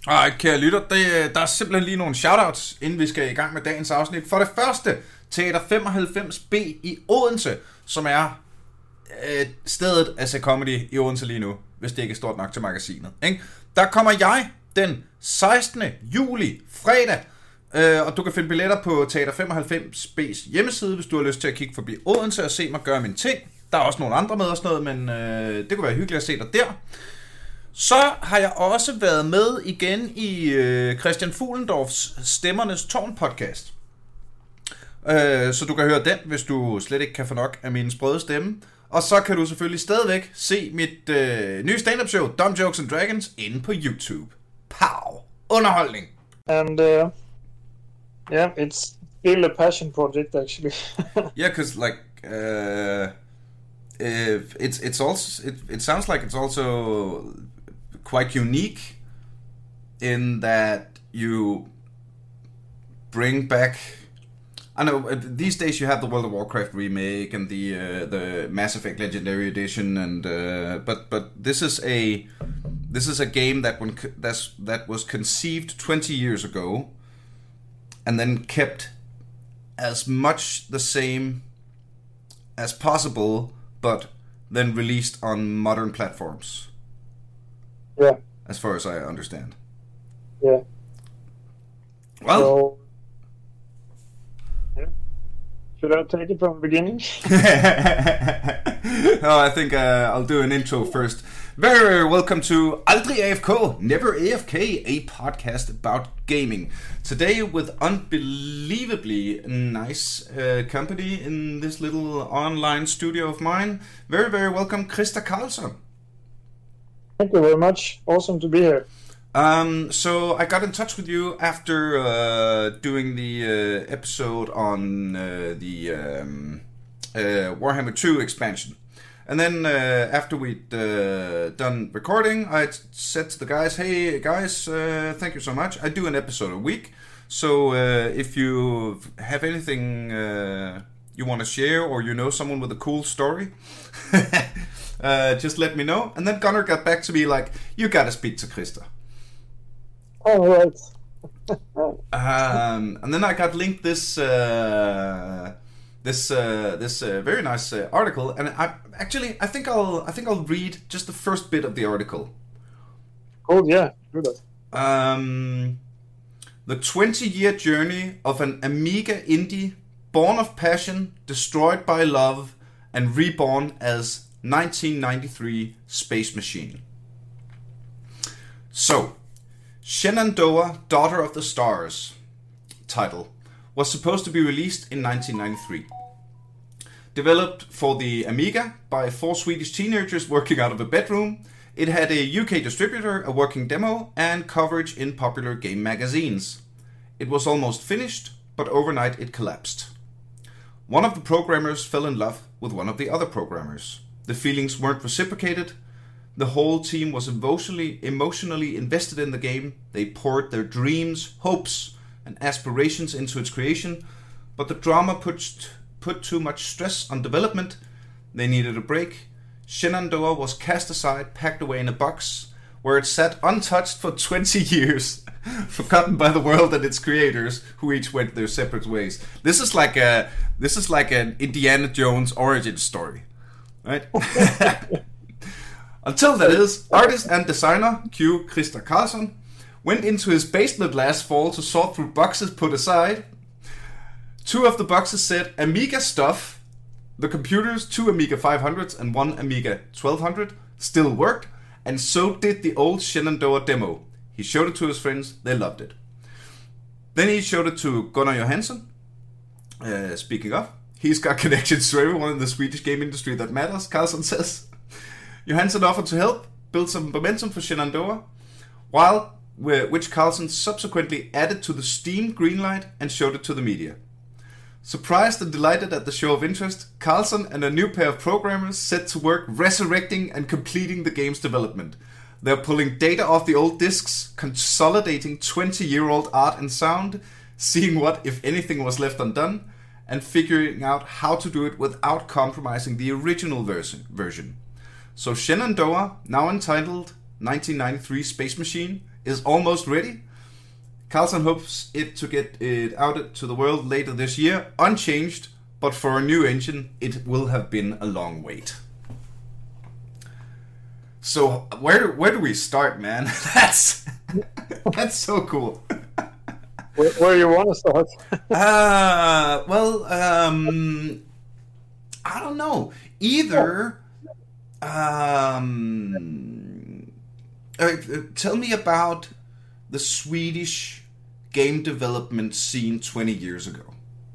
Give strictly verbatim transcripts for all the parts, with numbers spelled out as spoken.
Ej, kære lytter, det, der er simpelthen lige nogle shoutouts, inden vi skal i gang med dagens afsnit. For det første, Teater femoghalvfems B i Odense, som er øh, stedet at se comedy i Odense lige nu, hvis det ikke er stort nok til magasinet. Ikke? Der kommer jeg den sekstende juli, fredag, øh, og du kan finde billetter på Teater femoghalvfems B's hjemmeside, hvis du har lyst til at kigge forbi Odense og se mig gøre min ting. Der er også nogle andre med og sådan noget, men øh, det kunne være hyggeligt at se dig der. Så har jeg også været med igen i øh, Christian Fuglendorfs Stemmernes Tårn podcast. Øh, så du kan høre den, hvis du slet ikke kan få nok af min sprøde stemme. Og så kan du selvfølgelig stadigvæk se mit øh, nye stand-up show, Dumb Jokes and Dragons, inde på YouTube. Pow! Underholdning! And uh, yeah, it's still a passion project actually. Yeah, because like uh, if it's it's also it, it sounds like it's also quite unique in that you bring back. I know these days you have the World of Warcraft remake and the uh, the Mass Effect Legendary Edition, and uh, but but this is a this is a game that when that's that was conceived twenty years ago, and then kept as much the same as possible, but then released on modern platforms. Yeah. As far as I understand. Yeah. Well. So, yeah. Should I take it from the beginning? Oh, I think uh, I'll do an intro first. Very, very welcome to Aldrig A F K, Never A F K, a podcast about gaming. Today with unbelievably nice uh, company in this little online studio of mine. Very, very welcome, Krista Karlsson. Thank you very much. Awesome to be here. Um, so I got in touch with you after uh, doing the uh, episode on uh, the um, uh, Warhammer two expansion. And then uh, after we'd uh, done recording, I said to the guys, hey guys, uh, thank you so much. I do an episode a week. So uh, if you have anything uh, you want to share, or you know someone with a cool story, uh, just let me know. And then Gunnar got back to me like, you gotta speak to Krista. All right. um, and then I got linked this uh, this uh, this uh, very nice uh, article, and I actually I think I'll I think I'll read just the first bit of the article. Oh yeah, do that. Um, the twenty-year journey of an Amiga indie, born of passion, destroyed by love, and reborn as nineteen ninety-three Space Machine. So, Shenandoah, Daughter of the Stars, title, was supposed to be released in nineteen ninety-three. Developed for the Amiga by four Swedish teenagers working out of a bedroom, it had a U K distributor, a working demo, and coverage in popular game magazines. It was almost finished, but overnight it collapsed. One of the programmers fell in love with one of the other programmers. The feelings weren't reciprocated. The whole team was emotionally, emotionally invested in the game. They poured their dreams, hopes, and aspirations into its creation, but the drama put, put too much stress on development. They needed a break. Shenandoah was cast aside, packed away in a box, where it sat untouched for twenty years, forgotten by the world and its creators, who each went their separate ways. This is like a this is like an Indiana Jones origin story, right? Until that is, artist and designer Q. Krista Karlsson went into his basement last fall to sort through boxes put aside. Two of the boxes said Amiga stuff. The computers, two Amiga five hundreds and one Amiga twelve hundred, still worked, and so did the old Shenandoah demo. He showed it to his friends, they loved it. Then he showed it to Gunnar Johansson. Uh, speaking of, he's got connections to everyone in the Swedish game industry that matters, Karlsson says. Johansson offered to help build some momentum for Shenandoah, while, which Karlsson subsequently added to the Steam greenlight and showed it to the media. Surprised and delighted at the show of interest, Karlsson and a new pair of programmers set to work resurrecting and completing the game's development. They're pulling data off the old discs, consolidating twenty-year-old art and sound, seeing what, if anything, was left undone, and figuring out how to do it without compromising the original version. So Shenandoah, now entitled nineteen ninety-three Space Machine, is almost ready. Carlson hopes it to get it out to the world later this year, unchanged, but for a new engine, it will have been a long wait. So where where do we start, man? That's that's so cool. Where, where you want to start? uh, well, um, I don't know. Either, um, uh, tell me about the Swedish game development scene twenty years ago.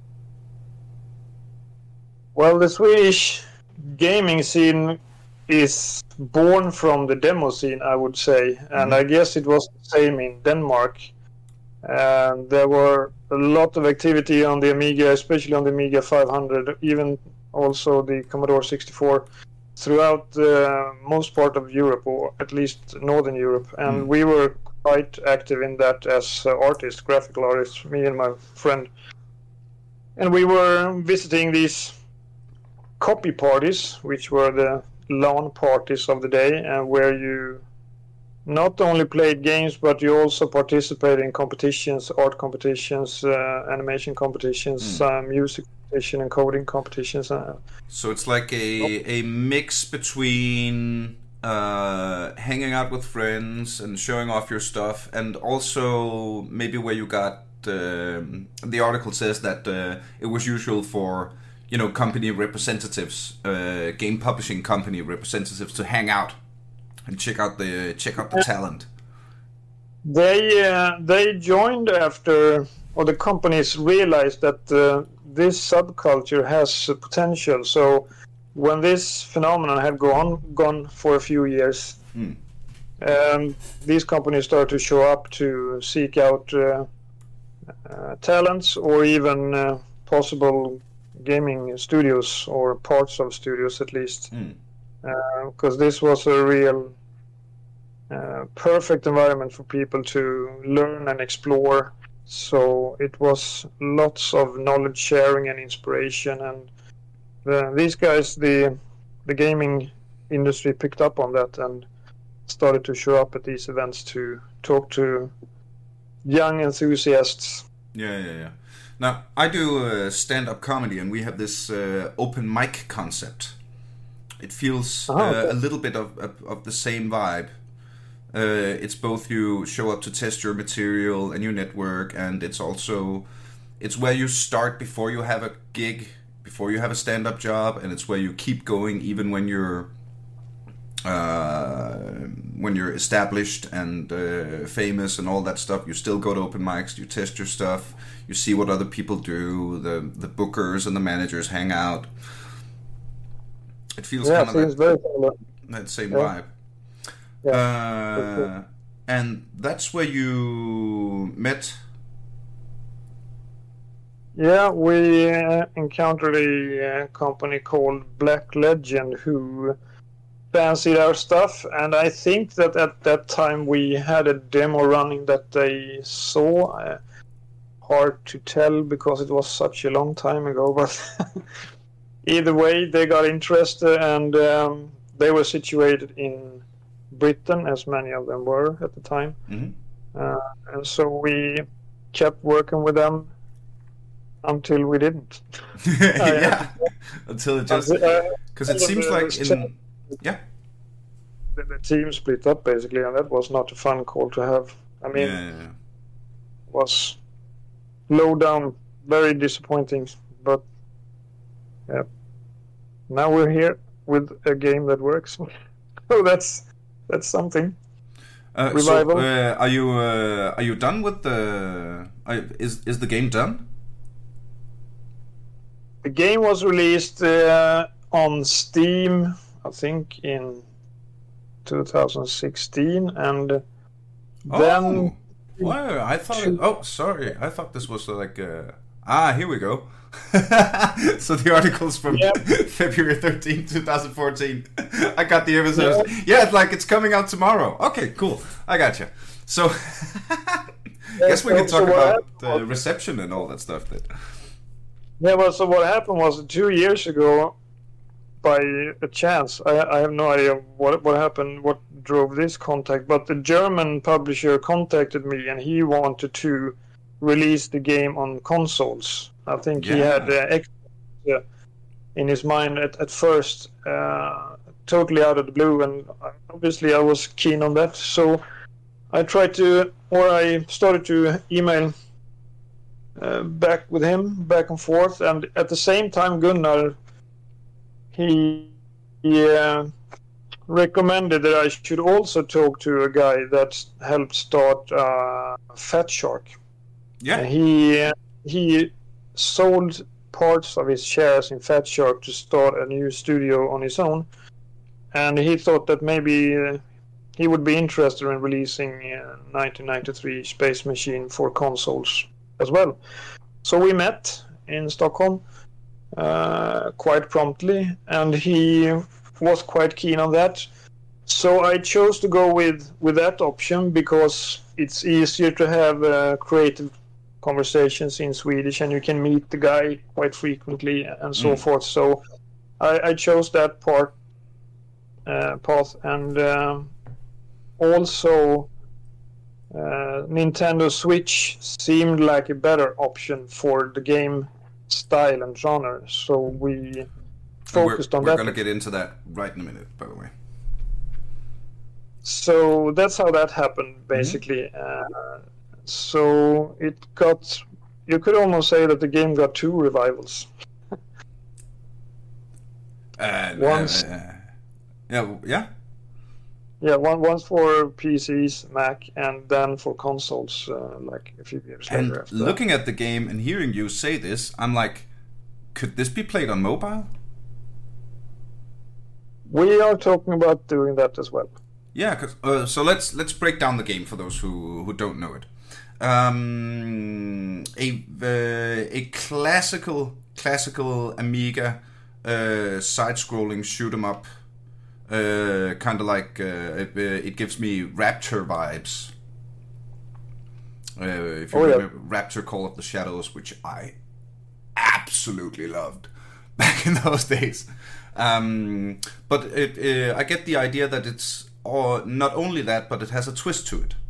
Well, the Swedish gaming scene is born from the demo scene, I would say, and mm-hmm. I guess it was the same in Denmark. And there were a lot of activity on the Amiga, especially on the Amiga five hundred, even also the Commodore sixty-four, throughout uh, most part of Europe, or at least Northern Europe. And mm. we were quite active in that as uh, artists, graphical artists, me and my friend. And we were visiting these copy parties, which were the LAN parties of the day, and where you not only played games, but you also participated in competitions, art competitions, uh, animation competitions, mm. uh, music competition, and coding competitions. Uh, so it's like a a mix between uh, hanging out with friends and showing off your stuff, and also maybe where you got uh, the article says that uh, it was usual for, you know, company representatives, uh, game publishing company representatives to hang out and check out the check out the talent. They uh, they joined after, or the companies realized that uh, this subculture has uh, potential. So when this phenomenon had gone gone for a few years, mm. um, these companies started to show up to seek out uh, uh, talents, or even uh, possible gaming studios, or parts of studios at least. Mm. Because uh, this was a real uh, perfect environment for people to learn and explore. So it was lots of knowledge sharing and inspiration, and the, these guys, the the gaming industry, picked up on that and started to show up at these events to talk to young enthusiasts. Yeah, yeah, yeah. Now, I do uh, stand-up comedy, and we have this uh, open mic concept. It feels uh, okay. a little bit of, of, of the same vibe. Uh, it's both you show up to test your material and your network, and it's also it's where you start before you have a gig, before you have a stand-up job, and it's where you keep going even when you're uh, when you're established and uh, famous and all that stuff. You still go to open mics, you test your stuff, you see what other people do. The the bookers and the managers hang out. It feels yeah, kind of seems that, very similar. that same yeah. vibe. Yeah, uh, cool. And that's where you met. Yeah, we uh, encountered a uh, company called Black Legend who fancied our stuff, and I think that at that time we had a demo running that they saw. Uh, hard to tell because it was such a long time ago, but either way, they got interested, and um, they were situated in Britain, as many of them were at the time. Mm-hmm. Uh, and so we kept working with them until we didn't. yeah, until it just... Because uh, it seems like... in Yeah. The, the team split up, basically, and that was not a fun call to have. I mean, yeah, yeah, yeah. It was low down, very disappointing, but yeah. Now we're here with a game that works. So that's that's something. Uh, Revival. So, uh, are you uh, are you done with the? Uh, is is the game done? The game was released uh, on Steam, I think, in two thousand sixteen, and oh. then. Wow, I thought. It, oh, sorry. I thought this was like. Uh, ah, here we go. So the article's from yep. February thirteenth, twenty fourteen. I got the episode. Yeah. yeah, it's like it's coming out tomorrow. Okay, cool. I got you. So, I yeah, guess we so, can talk so about the reception and all that stuff. Then. Yeah, well, so what happened was two years ago, by a chance. I, I have no idea what what happened, what drove this contact, but the German publisher contacted me and he wanted to release the game on consoles. I think yeah. he had uh, extra in his mind at, at first, uh, totally out of the blue, and obviously I was keen on that. So I tried to, or I started to email uh, back with him, back and forth, and at the same time Gunnar, he, he uh, recommended that I should also talk to a guy that helped start uh, Fat Shark. Yeah. And he uh, he sold parts of his shares in Fat Shark to start a new studio on his own, and he thought that maybe uh, he would be interested in releasing uh, nineteen ninety-three Space Machine for consoles as well. So we met in Stockholm uh, quite promptly, and he was quite keen on that. So I chose to go with, with that option because it's easier to have uh, creative conversations in Swedish, and you can meet the guy quite frequently and so mm. forth. So I, I chose that part uh, path, and um, also uh, Nintendo Switch seemed like a better option for the game style and genre. So we focused we're, on we're that. We're going to get into that right in a minute, by the way. So that's how that happened, basically. Mm-hmm. Uh, so it got, you could almost say that the game got two revivals. uh, once, uh, yeah, yeah, yeah. One once for P Cs, Mac, and then for consoles, uh, like a few years and later. After looking that. at the game and hearing you say this, I'm like, could this be played on mobile? We are talking about doing that as well. Yeah, cause, uh, so let's let's break down the game for those who, who don't know it. Um, a uh, a classical classical Amiga uh, side-scrolling shoot 'em up, uh, kind of like uh, it, uh, it gives me Rapture vibes. Uh, if you oh, remember yeah. Rapture: Call of the Shadows, which I absolutely loved back in those days. Um, but it, uh, I get the idea that it's or not only that, but it has a twist to it.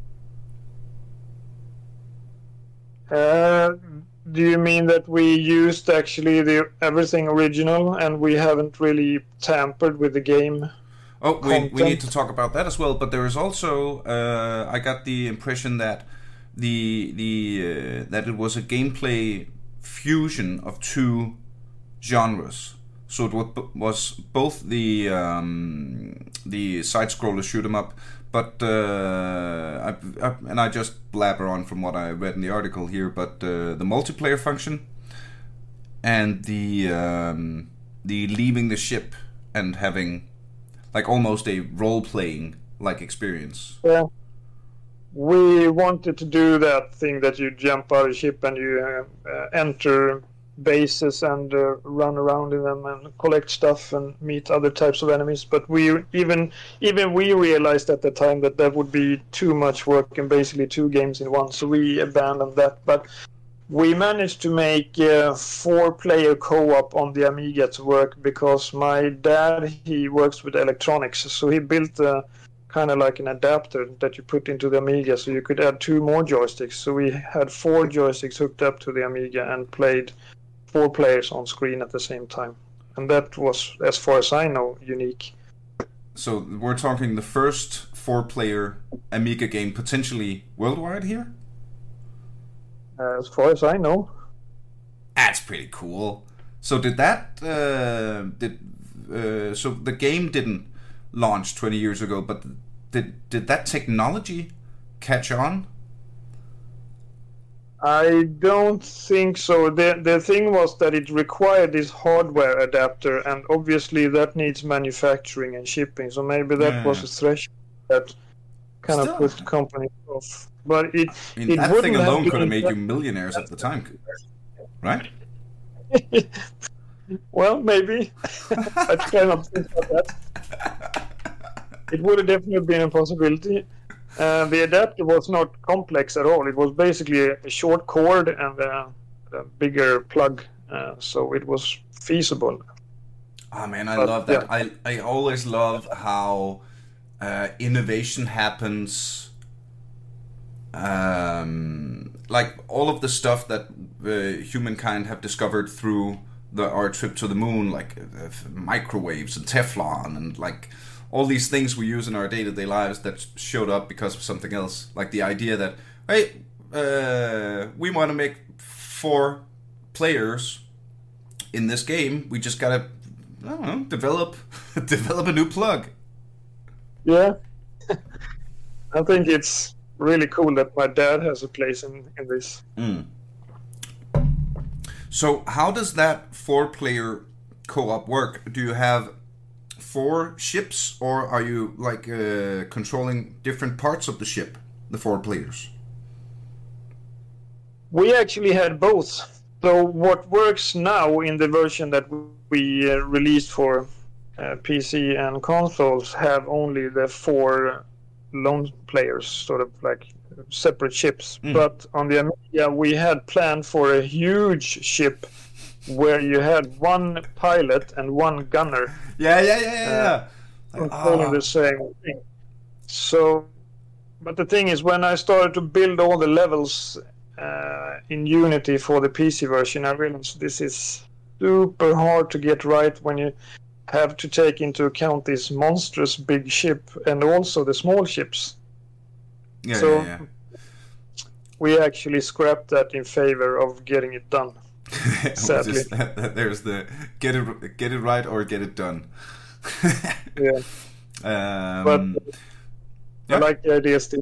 Uh, do you mean that we used actually the everything original and we haven't really tampered with the game? Oh, we, we need to talk about that as well. But there is also uh, I got the impression that the the uh, that it was a gameplay fusion of two genres. So it was both the um, the side scroller shoot 'em up, but uh, I, I, and I just blabber on from what I read in the article here. But uh, the multiplayer function and the um, the leaving the ship and having like almost a role playing like experience. Yeah, we wanted to do that thing that you jump out of the ship and you uh, enter bases and uh, run around in them and collect stuff and meet other types of enemies, but we even even we realized at the time that that would be too much work and basically two games in one, so we abandoned that. But we managed to make uh, four player co-op on the Amiga to work because my dad, he works with electronics, so he built a kind of like an adapter that you put into the Amiga so you could add two more joysticks. So we had four joysticks hooked up to the Amiga and played four players on screen at the same time, and that was, as far as I know, unique. So we're talking the first four-player Amiga game potentially worldwide here? Uh, as far as I know. That's pretty cool. So did that uh, did uh, so the game didn't launch twenty years ago, but did did that technology catch on? I don't think so. The the thing was that it required this hardware adapter, and obviously that needs manufacturing and shipping. So maybe that yeah. was a threshold that kind Still. of put companies off. But it, I mean, it that thing alone have could have made you millionaires at the time, right? Well, maybe. I try not to think about that. It would have definitely been a possibility. Uh, the adapter was not complex at all. It was basically a, a short cord and a, a bigger plug, uh, so it was feasible. Oh man, I But, love that. yeah. I I always love how uh, innovation happens. Um, like all of the stuff that uh, humankind have discovered through the our trip to the moon, like uh, microwaves and Teflon, and like all these things we use in our day-to-day lives that showed up because of something else. Like the idea that, hey, uh, we want to make four players in this game. We just gotta, I don't know, develop develop a new plug. Yeah. I think it's really cool that my dad has a place in, in this. Mm. So how does that four-player co-op work? Do you have four ships, or are you like uh, controlling different parts of the ship, the four players? We actually had both. So what works now in the version that we uh, released for uh, P C and consoles have only the four lone players, sort of like separate ships. Mm. But on the Amiga, we had planned for a huge ship where you had one pilot and one gunner. Yeah, yeah, yeah, yeah. yeah. Uh, controlling the same thing. So, but the thing is, when I started to build all the levels uh, in Unity for the P C version, I realized this is super hard to get right when you have to take into account this monstrous big ship and also the small ships. Yeah, so yeah, yeah. we actually scrapped that in favor of getting it done. Sadly. Just, there's the get it get it right or get it done. Yeah. Um, but yeah. I like the idea still.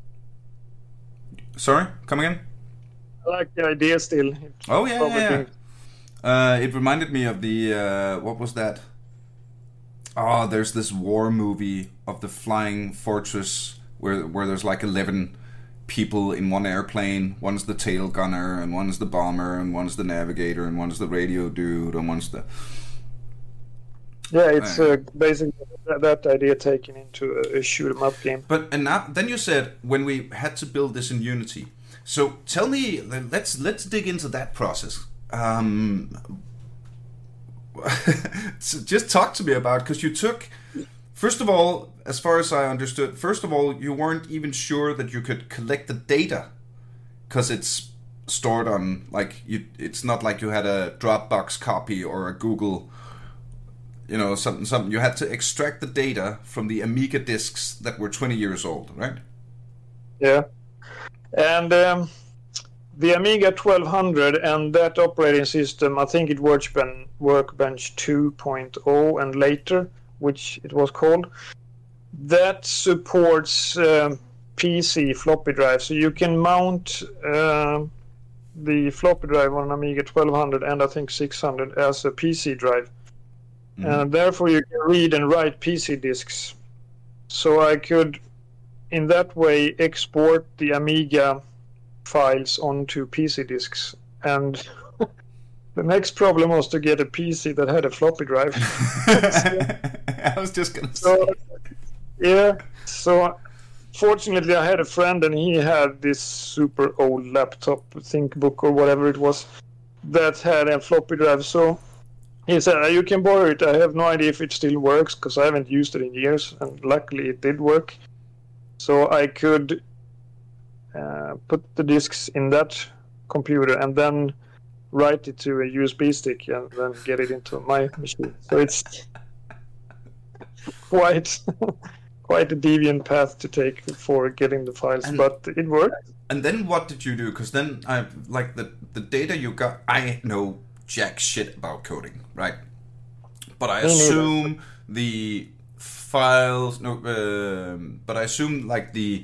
Sorry, come again? I like the idea still. Oh yeah, Probably yeah. yeah. Uh, it reminded me of the uh, what was that? Oh, there's this war movie of the flying fortress where where there's like eleven people in one airplane. One's the tail gunner, and one's the bomber, and one's the navigator, and one's the radio dude, and one's the Yeah, it's uh, basically that, that idea taken into a, a shoot 'em up game. But and now then you said when we had to build this in Unity. So tell me, let's let's dig into that process. Um, so just talk to me about, because you took, first of all, as far as I understood, first of all, you weren't even sure that you could collect the data, because it's stored on, like, you, it's not like you had a Dropbox copy or a Google, you know, something, something. You had to extract the data from the Amiga disks that were twenty years old, right? Yeah. And um, the Amiga twelve hundred and that operating system, I think it Workbench, Workbench two point oh and later, which it was called, that supports um, P C floppy drive. So you can mount uh, the floppy drive on Amiga twelve hundred and I think six hundred as a P C drive. Mm-hmm. And therefore you can read and write P C disks. So I could, in that way, export the Amiga files onto P C disks. And the next problem was to get a P C that had a floppy drive. I was just going to say. So, yeah, so fortunately I had a friend and he had this super old laptop, ThinkBook or whatever it was, that had a floppy drive. So he said, you can borrow it. I have no idea if it still works because I haven't used it in years. And luckily it did work. So I could uh, put the disks in that computer and then write it to a U S B stick and then get it into my machine. So it's quite quite a deviant path to take for getting the files, and, but it worked. And then what did you do? Because then, I like the the data you got. I know jack shit about coding, right? But I assume the files. No, um, but I assume like the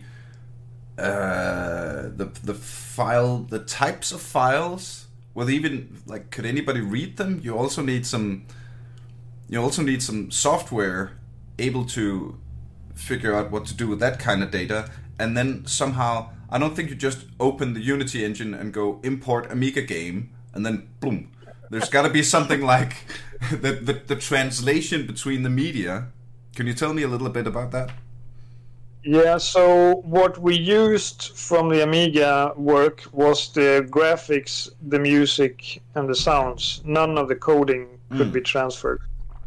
uh, the the file, the types of files. Well, even like, could anybody read them? You also need some. You also need some software able to figure out what to do with that kind of data, and then somehow, I don't think you just open the Unity engine and go import Amiga game, and then boom. There's got to be something like the, the the translation between the media. Can you tell me a little bit about that? Yeah, so what we used from the Amiga work was the graphics, the music, and the sounds. None of the coding could mm. be transferred.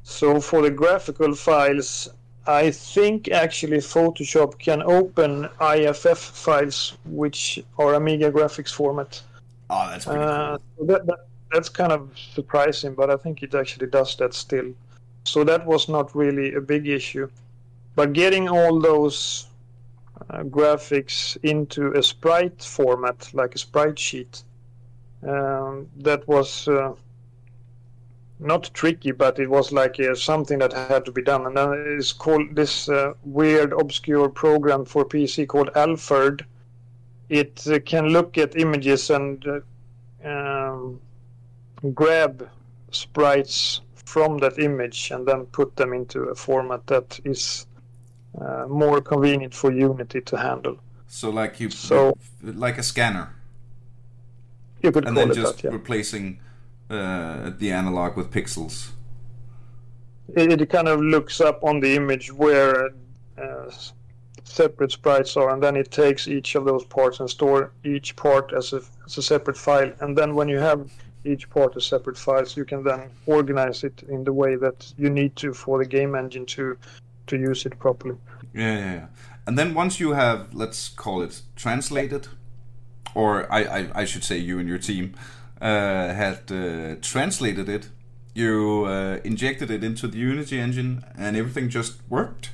So for the graphical files, I think actually Photoshop can open I F F files, which are Amiga graphics format. Oh, that's pretty Uh, cool. so that, that, that's kind of surprising, but I think it actually does that still. So that was not really a big issue. But getting all those uh, graphics into a sprite format, like a sprite sheet, um, that was uh, not tricky, but it was like uh, something that had to be done. And then it's called this uh, weird, obscure program for P C called Alfred. It uh, can look at images and uh, um, grab sprites from that image and then put them into a format that is uh, more convenient for Unity to handle. So like you, So- like a scanner, You could and call then it just that, yeah. replacing uh, the analog with pixels. It, it kind of looks up on the image where uh, separate sprites are, and then it takes each of those parts and store each part as a, as a separate file. And then when you have each part as separate files, you can then organize it in the way that you need to for the game engine to to use it properly. Yeah, yeah, yeah. And then once you have, let's call it, translated, or I, I, I should say you and your team uh, had uh, translated it, you uh, injected it into the Unity engine, and everything just worked.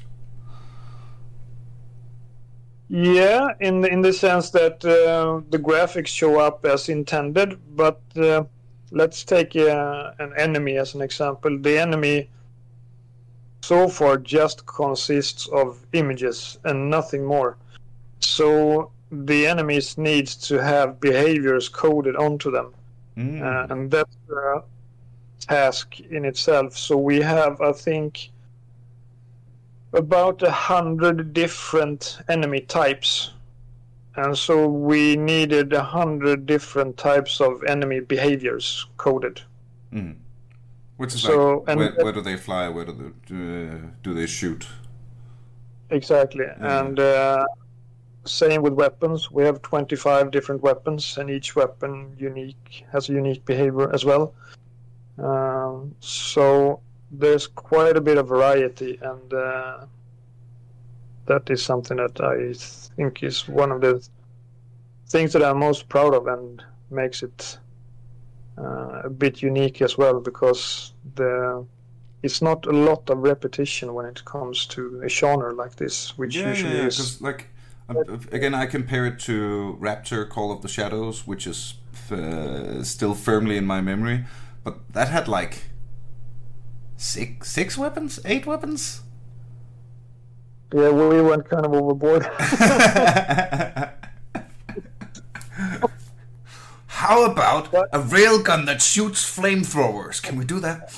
Yeah, in in the sense that uh, the graphics show up as intended, but uh, let's take uh, an enemy as an example. The enemy so far just consists of images and nothing more. So the enemies need to have behaviors coded onto them, Mm. uh, and that's a task in itself. So we have, I think, about a hundred different enemy types, and so we needed a hundred different types of enemy behaviors coded. Mm. Which is So, like, and- where, where do they fly? Where do they, uh, do they shoot? Exactly, and uh, same with weapons. We have twenty-five different weapons, and each weapon unique has a unique behavior as well. Um, so there's quite a bit of variety, and uh, that is something that I think is one of the things that I'm most proud of, and makes it uh, a bit unique as well, because the it's not a lot of repetition when it comes to a genre like this, which Yeah, usually yeah, is. because like um, again, I compare it to Raptor: Call of the Shadows, which is uh, still firmly in my memory, but that had like six six weapons, eight weapons. Yeah, we went kind of overboard. How about a railgun that shoots flamethrowers? Can we do that?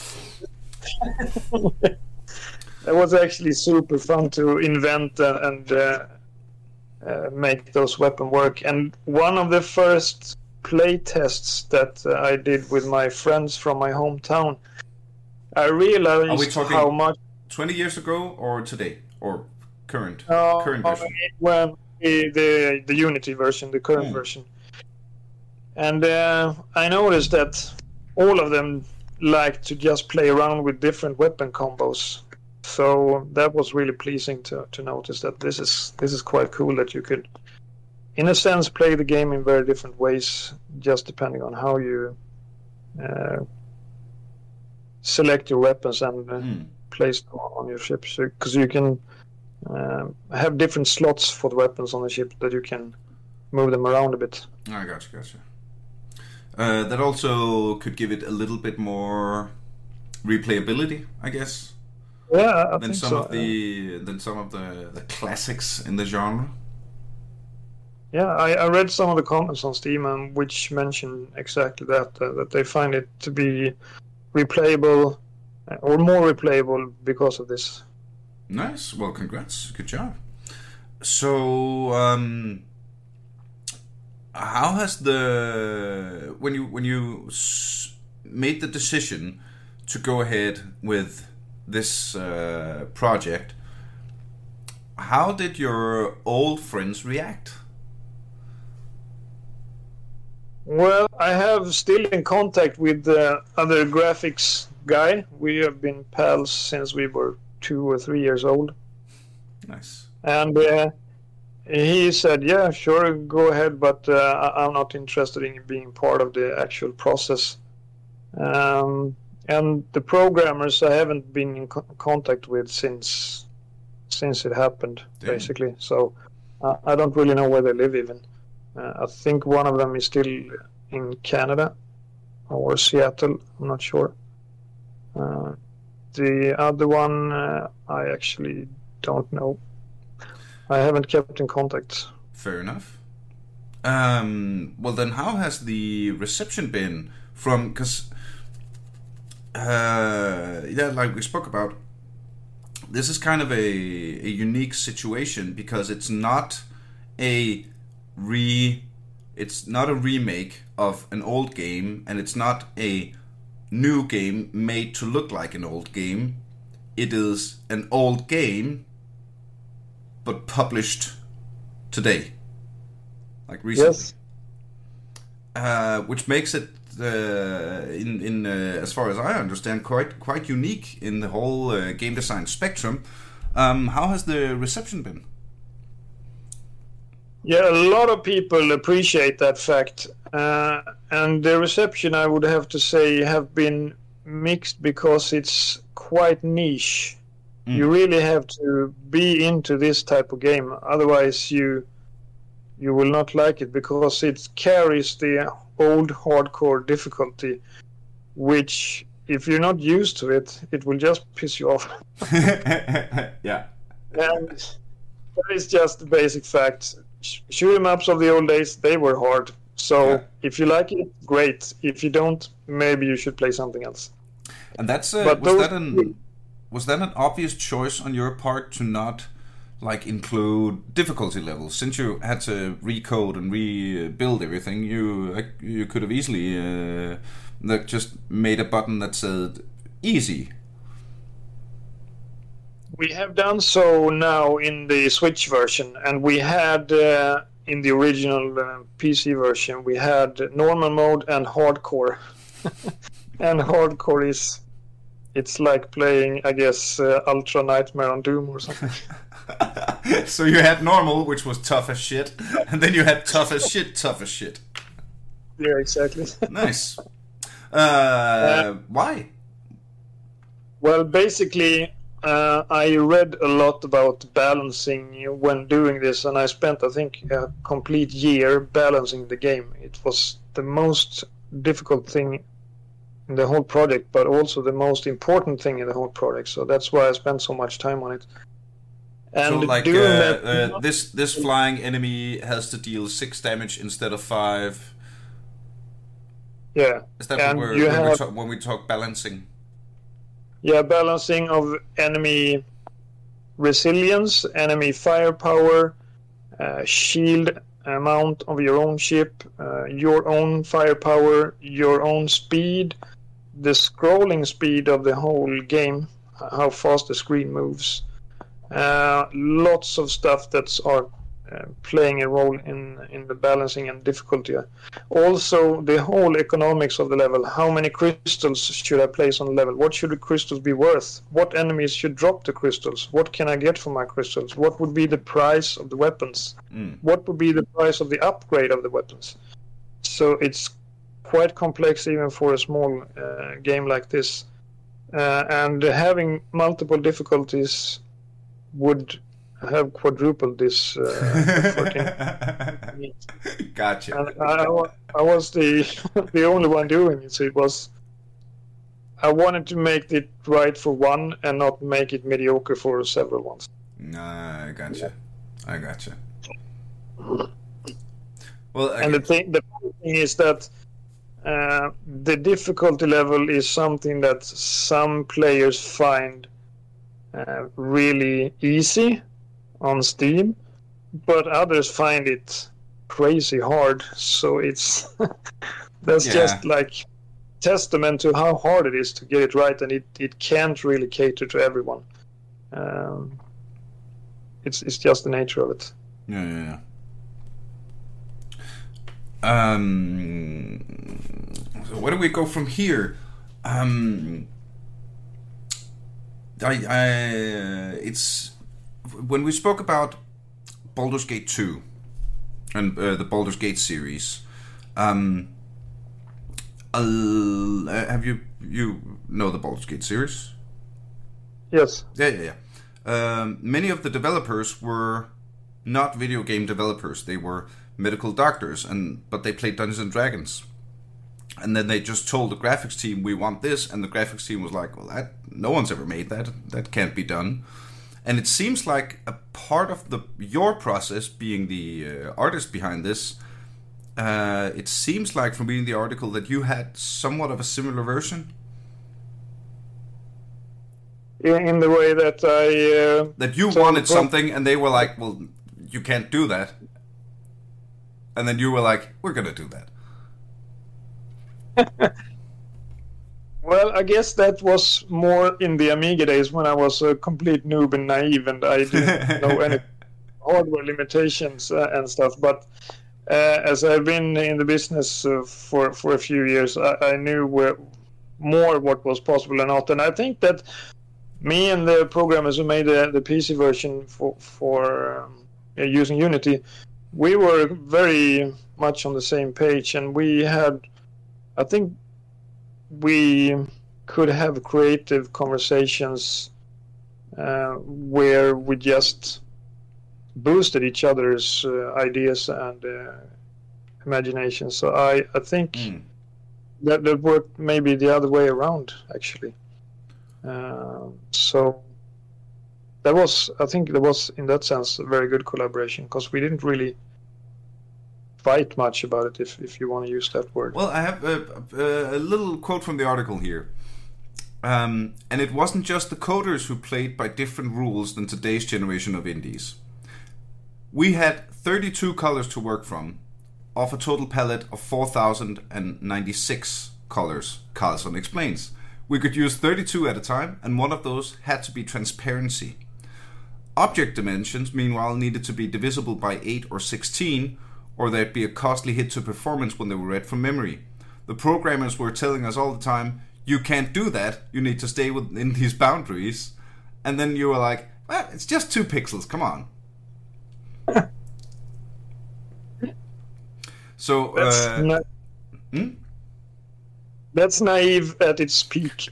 It was actually super fun to invent uh, and uh, uh, make those weapons work. And one of the first play tests that uh, I did with my friends from my hometown, I Are we realized talking how much twenty years ago or today or current uh, current version? when the, the the Unity version, the current Hmm. version, and uh, I noticed that all of them like to just play around with different weapon combos. So that was really pleasing to, to notice that this is this is quite cool that you could, in a sense, play the game in very different ways, just depending on how you uh, select your weapons and uh, Hmm. place them on your ship. Because you can um, have different slots for the weapons on the ship that you can move them around a bit. I gotcha, gotcha. Uh, that also could give it a little bit more replayability, I guess, Yeah, I than think some so. of the than some of the, the classics in the genre. Yeah, I, I read some of the comments on Steam, um, which mention exactly that, uh, that they find it to be replayable, uh, or more replayable because of this. Nice. Well, congrats. Good job. So, um, how has the when you when you s- made the decision to go ahead with this uh, project? How did your old friends react? Well, I have still in contact with uh, other graphics guy. We have been pals since we were two or three years old. Nice. And uh, he said, yeah, sure, go ahead, but uh, I- I'm not interested in being part of the actual process. Um, and the programmers I haven't been in co- contact with since since it happened, Damn. basically. So uh, I don't really know where they live even. Uh, I think one of them is still in Canada or Seattle, I'm not sure. Uh, the other one, uh, I actually don't know. I haven't kept in contact. Fair enough. Um, well, then how has the reception been from, because, uh, yeah, like we spoke about, this is kind of a, a unique situation because it's not a re, it's not a remake of an old game, and it's not a new game made to look like an old game. It is an old game, but published today, like recently. Yes. Uh, which makes it, uh, in in uh, as far as I understand, quite quite unique in the whole uh, game design spectrum. Um, how has the reception been? Yeah, a lot of people appreciate that fact, uh, and the reception, I would have to say, have been mixed because it's quite niche. Mm. You really have to be into this type of game, otherwise you you will not like it, because it carries the old hardcore difficulty, which, if you're not used to it, it will just piss you off. Yeah. And that is just the basic fact. Shoot 'em ups of the old days, they were hard. So yeah. If you like it, great. If you don't, maybe you should play something else. And that's uh, was that an was that an obvious choice on your part to not like include difficulty levels? Since you had to recode and rebuild everything, you you could have easily uh, like just made a button that said easy. We have done so now in the Switch version, and we had uh, in the original uh, P C version, we had normal mode and hardcore. And hardcore is, it's like playing, I guess, uh, Ultra Nightmare on Doom or something. So you had normal, which was tough as shit, and then you had tough as shit, tough as shit. Yeah, exactly. Nice. Uh, uh, why? Well, basically, Uh, I read a lot about balancing when doing this, and I spent, I think, a complete year balancing the game. It was the most difficult thing in the whole project, but also the most important thing in the whole project. So that's why I spent so much time on it. And so, like, uh, that, uh, this this flying enemy has to deal six damage instead of five. Yeah. Is that what we're, when, have... we talk, when we talk balancing? Yeah, balancing of enemy resilience, enemy firepower, uh, shield amount of your own ship, uh, your own firepower, your own speed, the scrolling speed of the whole game, how fast the screen moves. Uh, lots of stuff that's are uh, playing a role in, in the balancing and difficulty. Also, the whole economics of the level. How many crystals should I place on the level? What should the crystals be worth? What enemies should drop the crystals? What can I get for my crystals? What would be the price of the weapons? Mm. What would be the price of the upgrade of the weapons? So it's quite complex even for a small uh, game like this. Uh, and having multiple difficulties would have quadrupled this uh, effort. Gotcha. And I, I was the the only one doing it, so it was. I wanted to make it right for one and not make it mediocre for several ones. Nah, I gotcha. I gotcha. Well, I and the thing, the thing is that uh, the difficulty level is something that some players find uh, really easy on Steam, but others find it crazy hard. So it's that's yeah. just like testament to how hard it is to get it right, and it, it can't really cater to everyone. Um, it's it's just the nature of it. Yeah, yeah, yeah. Um, so where do we go from here? Um, I, I, it's when we spoke about Baldur's Gate two and uh, the Baldur's Gate series. Um, uh, have you you know the Baldur's Gate series? Yes. Yeah, yeah, yeah. Um, many of the developers were not video game developers. They were medical doctors, and but they played Dungeons and Dragons. And then they just told the graphics team, we want this, and the graphics team was like, well, that no one's ever made that. That can't be done. And it seems like a part of the your process, being the uh, artist behind this, uh, it seems like from reading the article that you had somewhat of a similar version. In the way that I... Uh, that you wanted something, and they were like, well, you can't do that. And then you were like, we're going to do that. Well, I guess that was more in the Amiga days when I was a complete noob and naive and I didn't know any hardware limitations uh, and stuff. But uh, as I've been in the business uh, for, for a few years, I, I knew where, more what was possible or not. And I think that me and the programmers who made the, the P C version for, for um, using Unity, we were very much on the same page, and we had... I think we could have creative conversations uh, where we just boosted each other's uh, ideas and uh, imagination. So I, I think mm. that that worked maybe the other way around, actually. Uh, so that was, I think, there was in that sense a very good collaboration, because we didn't really fight much about it, if, if you want to use that word. Well, I have a, a, a little quote from the article here. Um, and it wasn't just the coders who played by different rules than today's generation of indies. We had thirty-two colors to work from, off a total palette of four thousand ninety-six colors, Carlson explains. We could use thirty-two at a time, and one of those had to be transparency. Object dimensions, meanwhile, needed to be divisible by eight or sixteen, or there'd be a costly hit to performance when they were read from memory. The programmers were telling us all the time, you can't do that, you need to stay within these boundaries. And then you were like, well, it's just two pixels, come on. So, that's, uh, na- hmm? that's naive at its peak.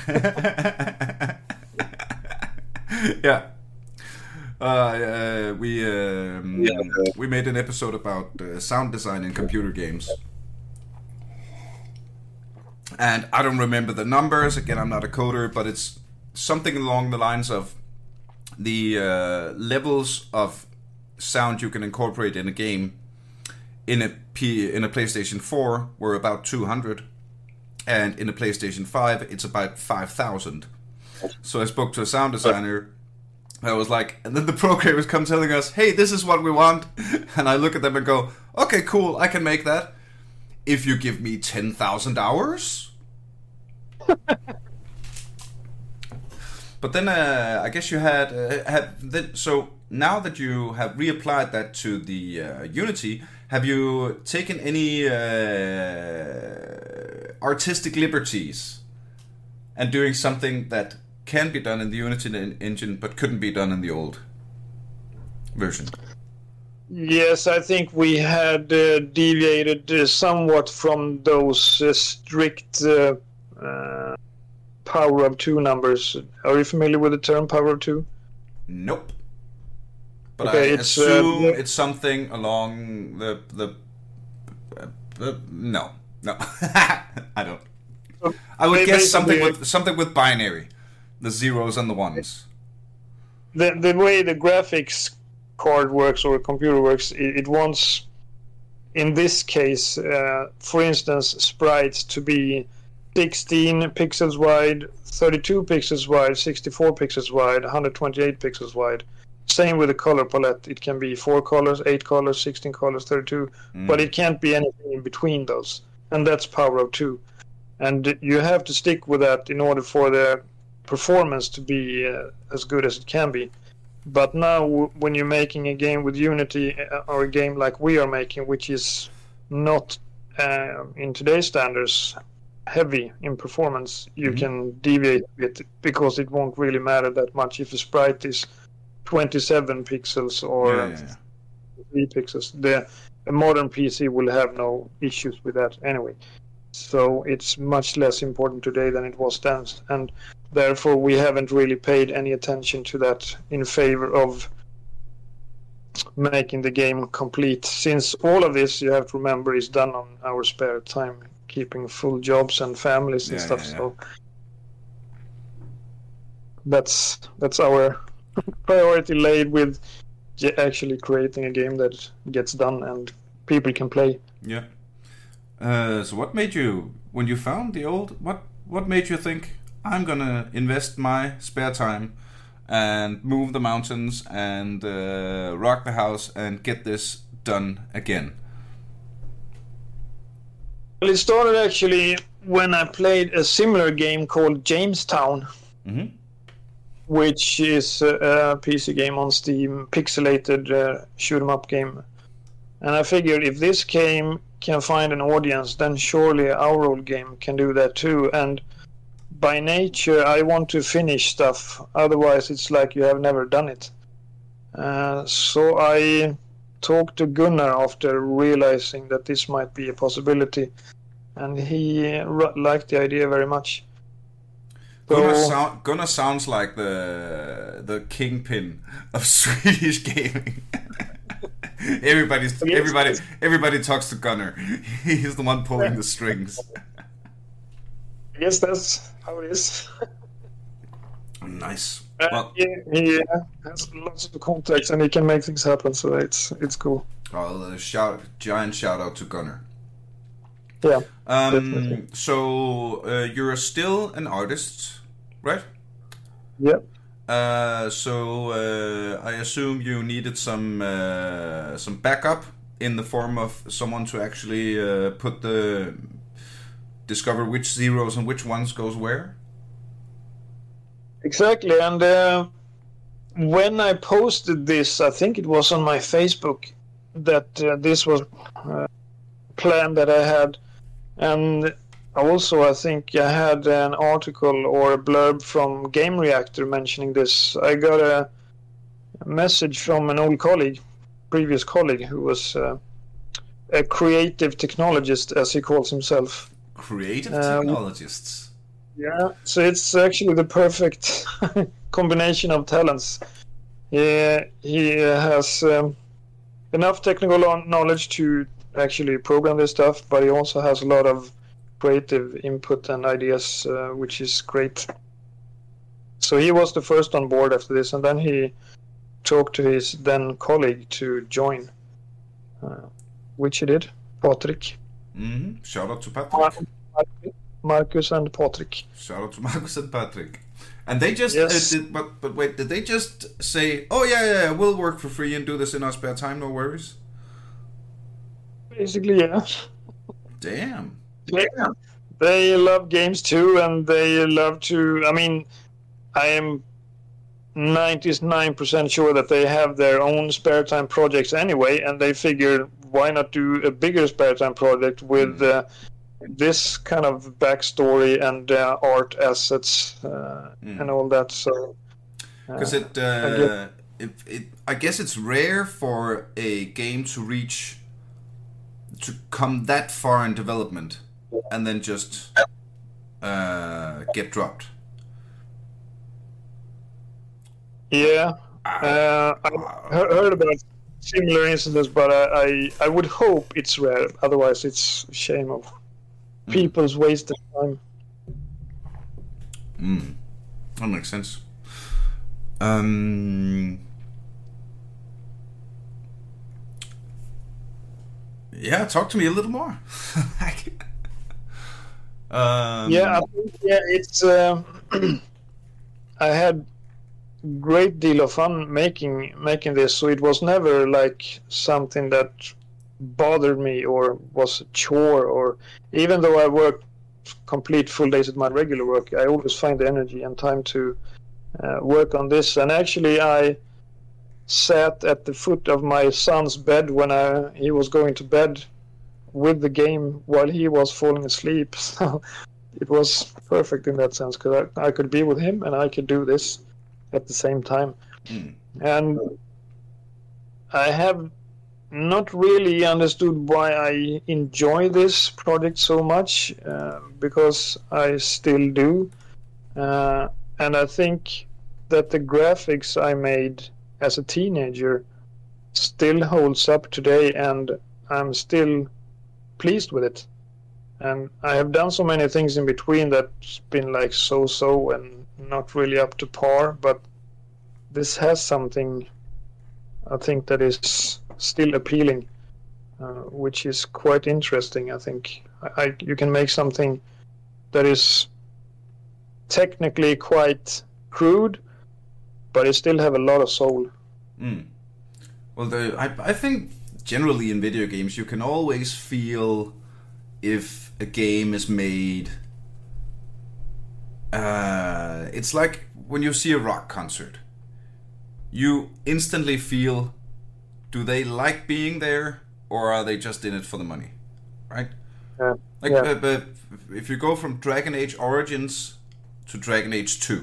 Yeah. Uh, uh, we um, yeah. we made an episode about uh, sound design in computer games, and I don't remember the numbers. Again, I'm not a coder, but it's something along the lines of the uh, levels of sound you can incorporate in a game. In a P in a PlayStation four, were about two hundred, and in a PlayStation five, it's about five thousand. So I spoke to a sound designer. I was like, and then the programmers come telling us, hey, this is what we want. And I look at them and go, okay, cool, I can make that. If you give me ten thousand hours. But then uh, I guess you had, uh, had th- so now that you have reapplied that to the uh, Unity, have you taken any uh, artistic liberties and doing something that can be done in the Unity engine, but couldn't be done in the old version? Yes, I think we had uh, deviated uh, somewhat from those uh, strict uh, uh, power of two numbers. Are you familiar with the term power of two? Nope. But okay, I it's, assume uh, it's something along the the. Uh, the no, no, I don't. I would guess something with something with binary. The zeros and the ones. The the way the graphics card works or computer works, it, it wants, in this case, uh, for instance, sprites to be sixteen pixels wide, thirty-two pixels wide, sixty-four pixels wide, one hundred twenty-eight pixels wide. Same with the color palette. It can be four colors, eight colors, sixteen colors, thirty-two, mm. but it can't be anything in between those. And that's power of two. And you have to stick with that in order for the performance to be uh, as good as it can be. But now w- when you're making a game with Unity, uh, or a game like we are making, which is not uh, in today's standards heavy in performance, you Mhm. can deviate a bit because it won't really matter that much if the sprite is twenty-seven pixels or Yeah, yeah, yeah. three pixels. The a modern P C will have no issues with that anyway. So it's much less important today than it was then, and therefore we haven't really paid any attention to that in favor of making the game complete. Since all of this, you have to remember, is done on our spare time, keeping full jobs and families and Yeah, stuff. yeah, yeah. So that's that's our priority laid with j- actually creating a game that gets done and people can play. Yeah. Uh, so what made you, when you found the old, what what made you think, I'm gonna invest my spare time and move the mountains and uh, rock the house and get this done again? Well, it started actually when I played a similar game called Jamestown, Mm-hmm. which is a, a P C game on Steam, pixelated uh, shoot 'em up game. And I figured if this game can find an audience, then surely our old game can do that too. And by nature, I want to finish stuff. Otherwise, it's like you have never done it. Uh, so I talked to Gunnar after realizing that this might be a possibility. And he r- liked the idea very much. Gunnar, So- sound, Gunnar sounds like the the kingpin of Swedish gaming. Everybody's Yes. everybody everybody talks to Gunnar. He's the one pulling the strings. I guess that's how it is. Nice. Uh, Well, he, he uh, has lots of contacts and he can make things happen, so it's it's cool. I'll uh, shout giant shout out to Gunnar. Yeah. Um, Definitely. so uh, you're still an artist, right? Yeah. Uh, so uh, I assume you needed some uh, some backup in the form of someone to actually uh, put the discover which zeros and which ones goes where. Exactly. And uh, when I posted this, I think it was on my Facebook that uh, this was a plan that I had. And also, I think I had an article or a blurb from Game Reactor mentioning this. I got a message from an old colleague, previous colleague, who was uh, a creative technologist, as he calls himself. Creative Um, technologists. Yeah, so it's actually the perfect combination of talents. He, he has um, enough technical knowledge to actually program this stuff, but he also has a lot of creative input and ideas, uh, which is great. So he was the first on board after this, and then he talked to his then colleague to join, uh, which he did, Patrick. Mm-hmm. Shout out to Patrick. Marcus and Patrick. Shout out to Marcus and Patrick. And they just, Yes. uh, did, but but wait, did they just say, oh yeah, yeah, yeah, we'll work for free and do this in our spare time, no worries? Basically, yeah. Damn. Yeah. They love games too, and they love to. I mean, I am ninety-nine percent sure that they have their own spare time projects anyway, and they figured why not do a bigger spare time project with uh, this kind of backstory and uh, art assets uh, Mm. and all that. So, Because uh, it, uh, it, it, I guess it's rare for a game to reach, to come that far in development, and then just uh, get dropped. yeah, uh, I he- heard about similar incidents, but I, I I would hope it's rare. Otherwise, it's a shame of people's wasted time. Mm. That makes sense. Um. Yeah, talk to me a little more. um, Yeah, I think yeah, it's. Uh, I had great deal of fun making making this, so it was never like something that bothered me or was a chore. Or even though I worked complete full days at my regular work, I always find the energy and time to uh, work on this. And actually, I sat at the foot of my son's bed when I, he was going to bed with the game while he was falling asleep. So it was perfect in that sense because I, I could be with him and I could do this at the same time. Mm. And I have not really understood why I enjoy this project so much, uh, because I still do. Uh, and I think that the graphics I made as a teenager still holds up today, and I'm still pleased with it. And I have done so many things in between that's been like so-so and not really up to par, but this has something I think that is still appealing, uh, which is quite interesting. I think I, I, you can make something that is technically quite crude, but it still have a lot of soul. Mm. Well, the, I, I think generally in video games you can always feel if a game is made. Uh, it's like when you see a rock concert. You instantly feel, do they like being there, or are they just in it for the money, right? Yeah. Like, yeah. uh, but if you go from Dragon Age Origins to Dragon Age two,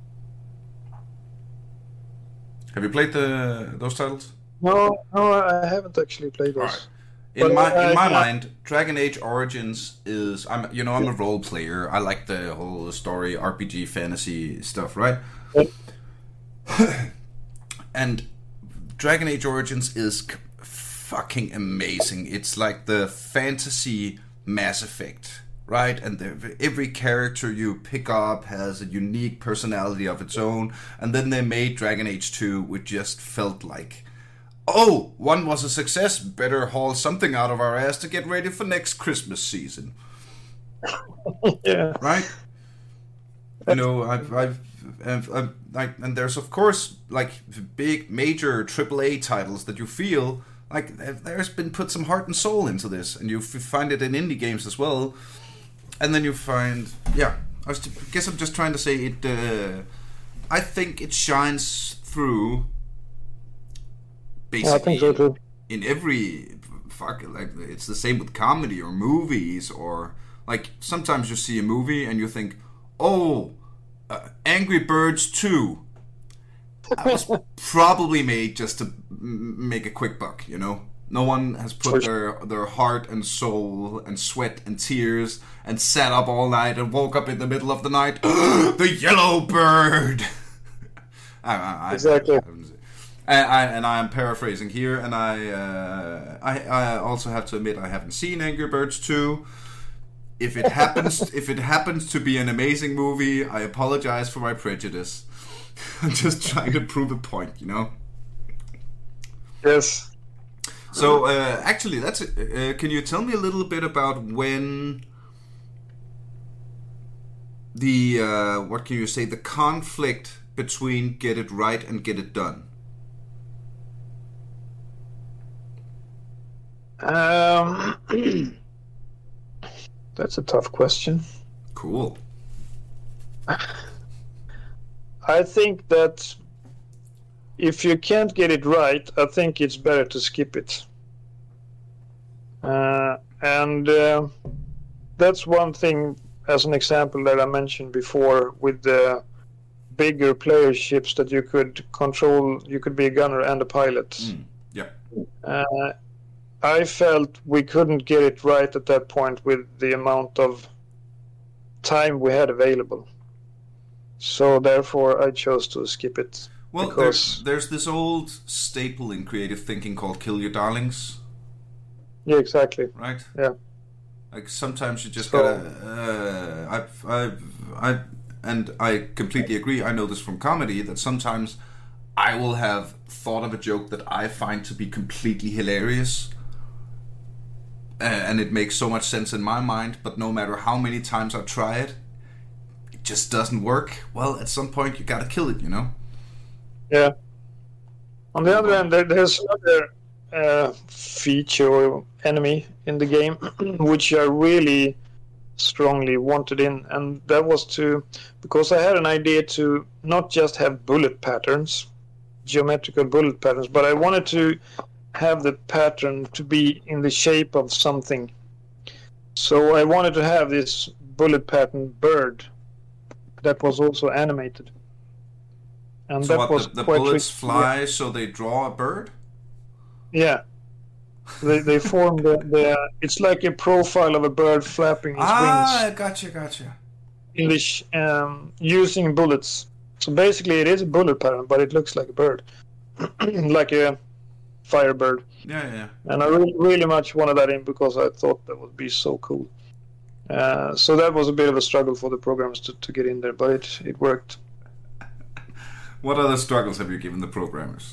have you played the those titles? No, no, I haven't actually played those. Right. In but, my uh, in my yeah. mind, Dragon Age Origins is I'm you know I'm a role player. I like the whole story, R P G, fantasy stuff, right? Yeah. And Dragon Age Origins is c- fucking amazing. It's like the fantasy Mass Effect, right? And the, every character you pick up has a unique personality of its own. And then they made Dragon Age two, which just felt like, oh, one was a success, better haul something out of our ass to get ready for next Christmas season. Yeah. Right? You know, I've, I've, I've, I've like, and there's of course like big major triple A titles that you feel like there's been put some heart and soul into this, and you f- find it in indie games as well. And then you find, yeah, I was t- guess I'm just trying to say it. Uh, I think it shines through. Basically, I think so too. In every fuck, like it's the same with comedy or movies, or like sometimes you see a movie and you think, oh. Uh, Angry Birds two was probably made just to m- make a quick buck, you know? No one has put their, their heart and soul and sweat and tears and sat up all night and woke up in the middle of the night. The yellow bird! I, I, exactly. I, I, I, and I am paraphrasing here, and I, uh, I I also have to admit I haven't seen Angry Birds two. If it happens, if it happens to be an amazing movie, I apologize for my prejudice. I'm just trying to prove a point, you know. Yes. So, uh, actually, that's. Uh, can you tell me a little bit about when the uh, what can you say the conflict between Get It Right and Get It Done? Um. That's a tough question. Cool. I think that if you can't get it right, I think it's better to skip it. Uh, and uh, that's one thing, as an example that I mentioned before, with the bigger player ships that you could control. You could be a gunner and a pilot. Mm, yeah. Uh, I felt we couldn't get it right at that point with the amount of time we had available. So therefore I chose to skip it. Well, because... there's, there's this old staple in creative thinking called kill your darlings. Yeah, exactly. Right? Yeah. Like sometimes you just so... gotta... Uh, I've, I've, I, and I completely agree, I know this from comedy, that sometimes I will have thought of a joke that I find to be completely hilarious. And it makes so much sense in my mind, but no matter how many times I try it, it just doesn't work. Well, at some point you gotta kill it, you know? Yeah. On the other hand, there, there's another uh, feature or enemy in the game which I really strongly wanted in, and that was to, because I had an idea to not just have bullet patterns, geometrical bullet patterns, but I wanted to have the pattern to be in the shape of something. So I wanted to have this bullet pattern bird that was also animated. And so that what, was the, the quite bullets tricky. fly, so they draw a bird? Yeah. They they form the, the it's like a profile of a bird flapping its ah, wings. gotcha, gotcha. English um, using bullets. So basically, it is a bullet pattern, but it looks like a bird, like a firebird. Yeah, yeah. And I really, really much wanted that in because I thought that would be so cool. Uh, so that was a bit of a struggle for the programmers to, to get in there, but it it worked. What other struggles have you given the programmers?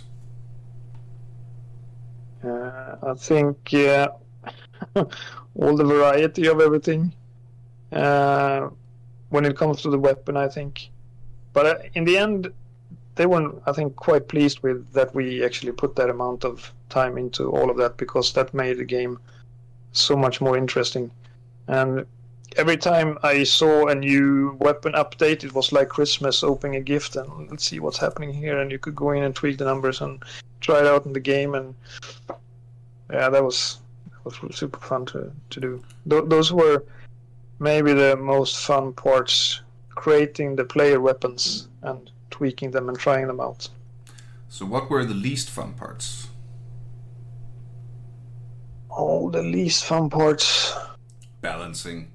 Uh, I think uh, all the variety of everything. Uh, when it comes to the weapon, I think. But uh, in the end, they were, I think, quite pleased with that we actually put that amount of time into all of that, because that made the game so much more interesting. And every time I saw a new weapon update, it was like Christmas opening a gift and let's see what's happening here. And you could go in and tweak the numbers and try it out in the game. And yeah, that was that was super fun to, to do. Th- those were maybe the most fun parts, creating the player weapons and tweaking them and trying them out. So what were the least fun parts? Oh, the least fun parts. Balancing.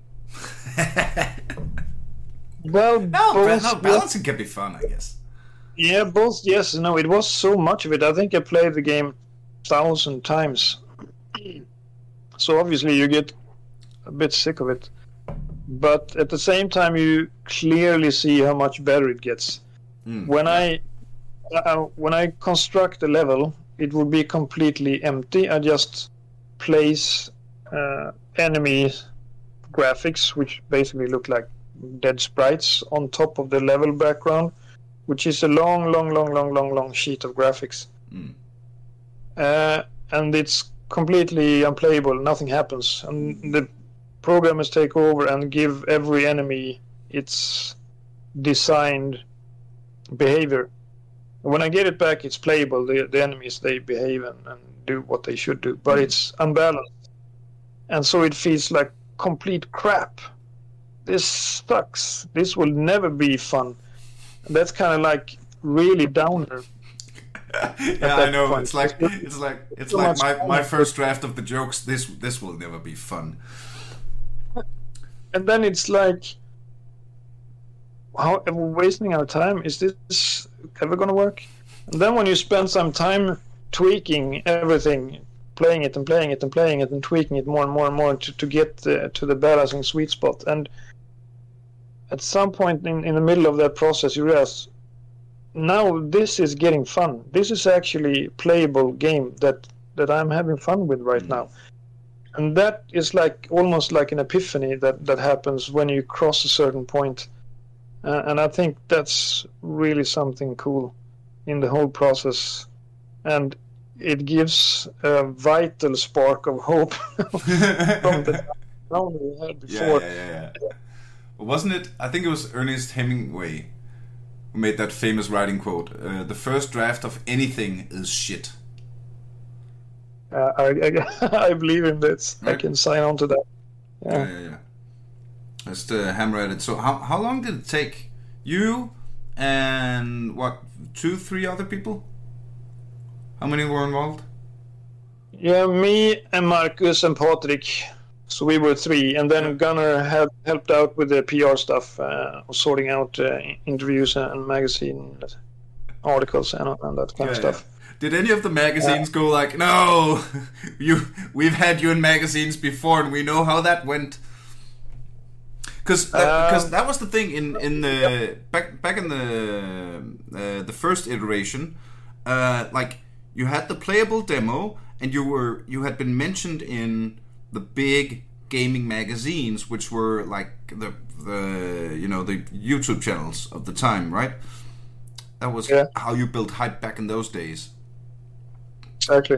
Well, no, both, no, balancing can be fun, I guess. Yeah, both yes and no. It was so much of it. I think I played the game a thousand times. So obviously you get a bit sick of it. But at the same time, you clearly see how much better it gets. Mm, when yeah. I uh, when I construct a level, it will be completely empty. I just place uh, enemy graphics, which basically look like dead sprites, on top of the level background, which is a long, long, long, long, long, long sheet of graphics. Mm. Uh, and it's completely unplayable. Nothing happens, and the programmers take over and give every enemy its designed behavior. When I get it back, it's playable. The, the enemies, they behave and, and do what they should do, but it's unbalanced. And so it feels like complete crap. This sucks. This will never be fun. And that's kind of like really downer. Yeah, I know. point. It's like it's like it's So like much my, fun. my first draft of the jokes. This this will never be fun. And then it's like, how are we wasting our time? Is this ever going to work? And then when you spend some time tweaking everything, playing it and playing it and playing it and tweaking it more and more and more to, to get uh, to the balancing sweet spot. And at some point in, in the middle of that process, you realize, now this is getting fun. This is actually a playable game that, that I'm having fun with right now. And that is like almost like an epiphany that, that happens when you cross a certain point. Uh, and I think that's really something cool in the whole process. And it gives a vital spark of hope from the down we had before. Yeah, yeah, yeah, yeah. Wasn't it? I think it was Ernest Hemingway who made that famous writing quote: uh, "The first draft of anything is shit." Uh, I, I, I believe in this. Right. I can sign on to that. Yeah. Yeah, yeah, yeah. Just uh, hammer at it. So, how how long did it take you and what two, three other people? How many were involved? Yeah, me and Marcus and Patrick. So we were three, and then Yeah. Gunnar had helped out with the P R stuff, uh, sorting out uh, interviews and magazine articles and, and that kind Yeah, of stuff. yeah. Did any of the magazines go like, "No, you, we've had you in magazines before, and we know how that went"? Because that, Um, because that was the thing in in the back back in the uh, the first iteration, uh, like you had the playable demo, and you were you had been mentioned in the big gaming magazines, which were like the the you know the YouTube channels of the time, right? That was Yeah. how you built hype back in those days. Exactly.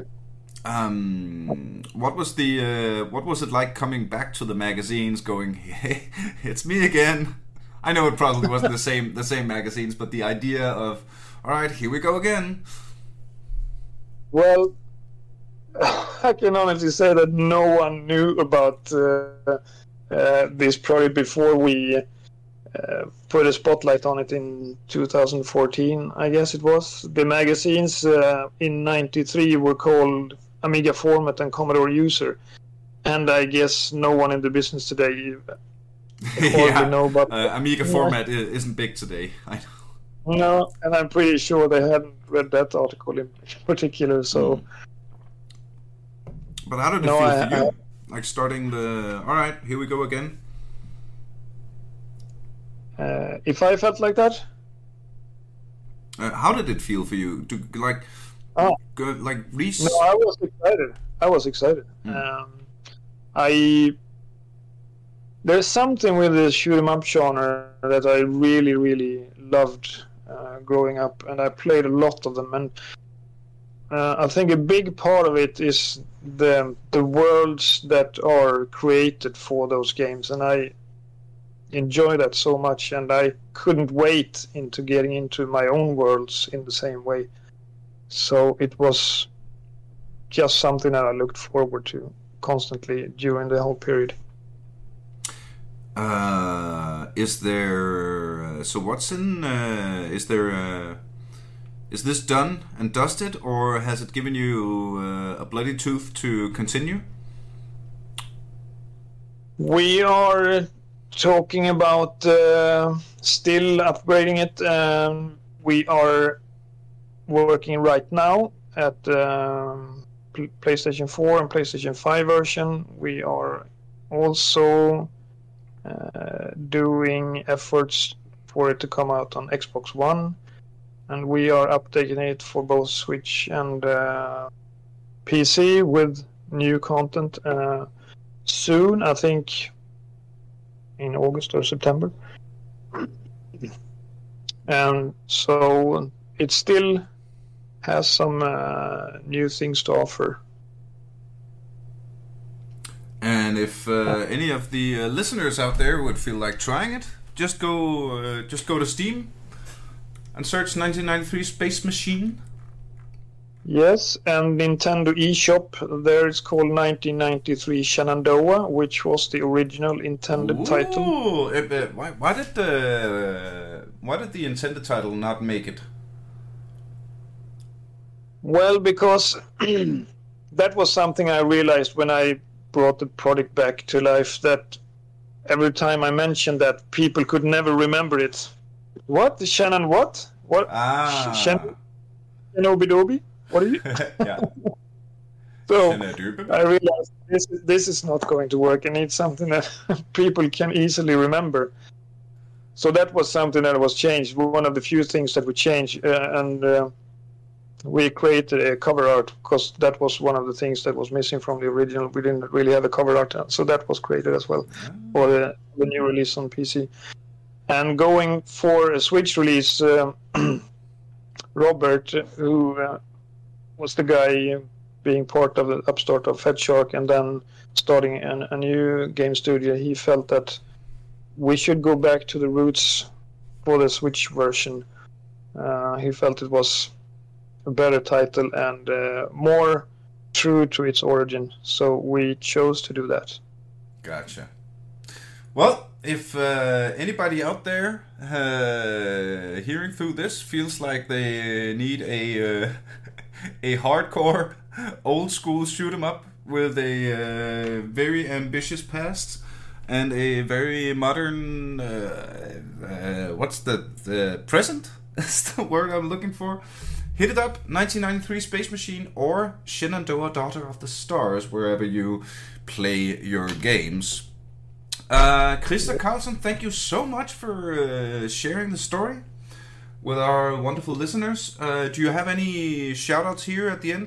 Um, what was the uh, what was it like coming back to the magazines, going, "Hey, it's me again"? I know it probably wasn't the same the same magazines, but the idea of, all right, here we go again. Well, I can honestly say that no one knew about uh, uh, this project before we uh, put a spotlight on it in two thousand fourteen, I guess it was. The magazines uh, in ninety-three were called Amiga Format and Commodore User, and I guess no one in the business today yeah. know about uh, Amiga Format yeah. isn't big today. I know. No, and I'm pretty sure they hadn't read that article in particular. So, mm. But how did it no, feel I, for you? I, like starting the. All right, here we go again. Uh, if I felt like that, uh, how did it feel for you to like, oh. go, like reach? No, I was excited. I was excited. Mm. Um, I there's something with the shoot 'em up genre that I really, really loved uh, growing up, and I played a lot of them. And uh, I think a big part of it is the the worlds that are created for those games, and I enjoy that so much, and I couldn't wait into getting into my own worlds in the same way. So it was just something that I looked forward to constantly during the whole period. Uh, is there uh, so what's in uh, is there uh, is this done and dusted, or has it given you uh, a bloody tooth to continue? We are talking about uh, still upgrading it. Um, we are working right now at um, P- PlayStation four and PlayStation five version. We are also uh, doing efforts for it to come out on Xbox One, and we are updating it for both Switch and uh, P C with new content uh, soon, I think in August or September. And so it still has some uh, new things to offer. And if uh, any of the uh, listeners out there would feel like trying it, just go uh, just go to Steam and search nineteen ninety-three Space Machine. Yes, and Nintendo eShop, there it's called nineteen ninety-three Shenandoah, which was the original intended Ooh, title. Uh, uh, why, why did the why did the intended title not make it? Well, because that was something I realized when I brought the product back to life, that every time I mentioned that, people could never remember it. What? The Shannon what? What? Ah. Shannon? Shinobi-dobi? What are you? Yeah. So I realized this is, this is not going to work. I need something that people can easily remember. So that was something that was changed. One of the few things that we changed, uh, and uh, we created a cover art, because that was one of the things that was missing from the original. We didn't really have a cover art, so that was created as well for the, the new release on P C. And going for a Switch release, uh, Robert, who uh, was the guy being part of the upstart of FedShark and then starting an, a new game studio, he felt that we should go back to the roots for the Switch version. Uh, he felt it was a better title and uh, more true to its origin, so we chose to do that. Gotcha. Well, if uh, anybody out there uh, hearing through this feels like they need a uh, a hardcore old school shoot 'em up with a uh, very ambitious past and a very modern uh, uh, what's the the present? That's the word I'm looking for. Hit it up, nineteen ninety-three Space Machine or Shenandoah Daughter of the Stars, wherever you play your games. Uh, Christer Carlson, thank you so much for uh, sharing the story with our wonderful listeners. Uh, do you have any shout-outs here at the end?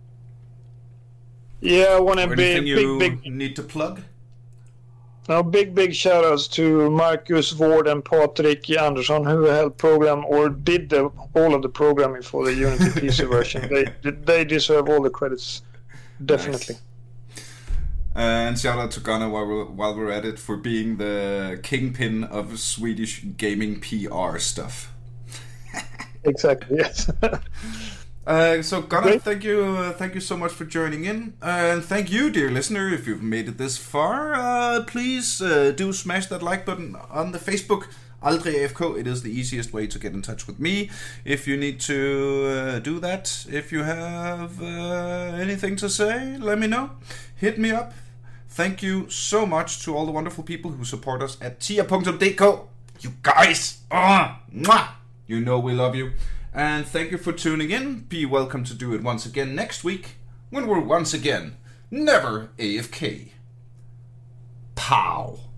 Yeah, I want to be anything you big, big need to plug? Now, big, big shout-outs to Marcus Ward and Patrik Andersson, who helped program or did the, all of the programming for the Unity P C version. They they deserve all the credits, definitely. Nice. And shout out to Gunnar while we're, while we're at it for being the kingpin of Swedish gaming P R stuff. Exactly, yes. Uh, so Gunnar, okay. thank you, uh, thank you so much for joining in, uh, and thank you, dear listener, if you've made it this far. Uh, please uh, do smash that like button on the Facebook. Aldrig A F K. It is the easiest way to get in touch with me. If you need to uh, do that, if you have uh, anything to say, let me know. Hit me up. Thank you so much to all the wonderful people who support us at tia dot d k. You guys, oh, mwah, you know we love you. And thank you for tuning in. Be welcome to do it once again next week when we're once again never A F K. Pow.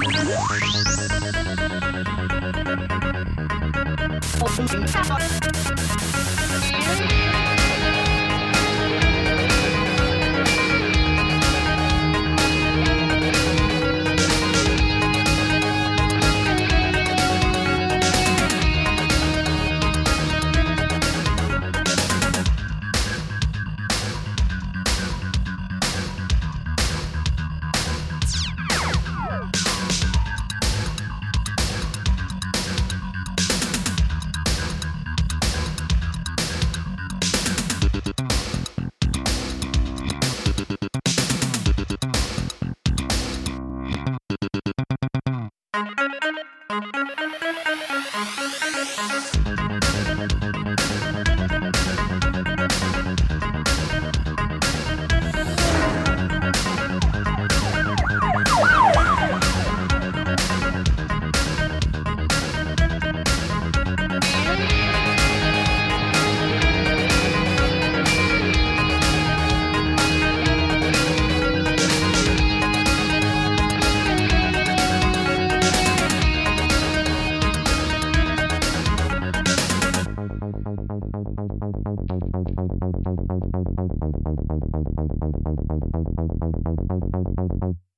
Thank you.